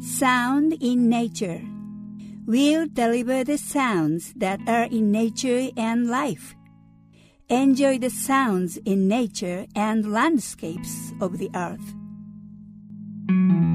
Sound in nature. We'll deliver the sounds that are in nature and life. Enjoy the sounds in nature and landscapes of the earth.